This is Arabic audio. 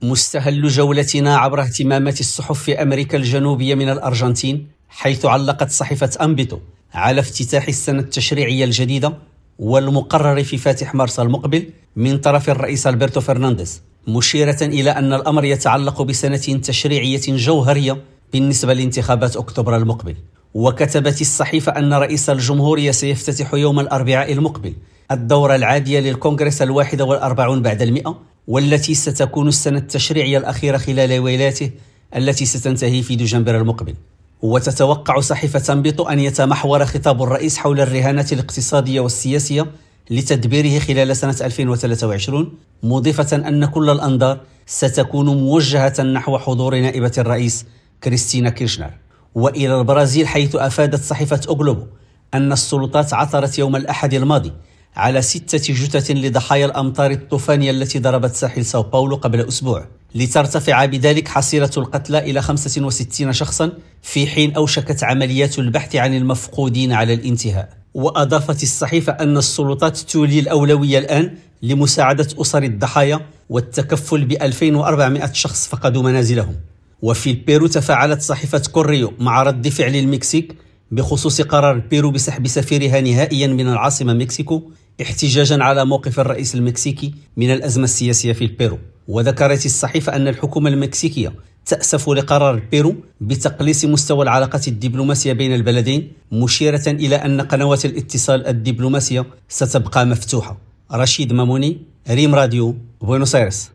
مستهل جولتنا عبر اهتمامات الصحف في أمريكا الجنوبية من الأرجنتين، حيث علقت صحيفة أنبيتو على افتتاح السنة التشريعية الجديدة والمقرر في فاتح مارس المقبل من طرف الرئيس ألبرتو فرنانديز، مشيرة إلى أن الأمر يتعلق بسنة تشريعية جوهرية بالنسبة لانتخابات أكتوبر المقبل. وكتبت الصحيفة أن رئيس الجمهورية سيفتتح يوم الأربعاء المقبل الدورة العادية للكونغرس 41 بعد 100، والتي ستكون السنة التشريعية الأخيرة خلال ولايته التي ستنتهي في دجنبر المقبل. وتتوقع صحيفة أنبيتو أن يتمحور خطاب الرئيس حول الرهانات الاقتصادية والسياسية لتدبيره خلال سنة 2023، مضيفة أن كل الأنظار ستكون موجهة نحو حضور نائبة الرئيس كريستينا كيرشنر. وإلى البرازيل، حيث أفادت صحيفة أوغلوبو أن السلطات عثرت يوم الأحد الماضي على 6 جثث لضحايا الأمطار الطوفانية التي ضربت ساحل ساو باولو قبل أسبوع، لترتفع بذلك حصيلة القتلى إلى 65 شخصا، في حين أوشكت عمليات البحث عن المفقودين على الانتهاء. وأضافت الصحيفة أن السلطات تولي الأولوية الآن لمساعدة أسر الضحايا والتكفل ب2400 شخص فقدوا منازلهم. وفي البيرو، تفاعلت صحيفة كوريو مع رد فعل المكسيك بخصوص قرار البيرو بسحب سفيرها نهائيا من العاصمة مكسيكو، احتجاجا على موقف الرئيس المكسيكي من الأزمة السياسية في البيرو. وذكرت الصحيفة أن الحكومة المكسيكية تأسف لقرار البيرو بتقليص مستوى العلاقات الدبلوماسية بين البلدين، مشيرة إلى أن قنوات الاتصال الدبلوماسية ستبقى مفتوحة. رشيد ماموني، ريم راديو، بوينوس آيرس.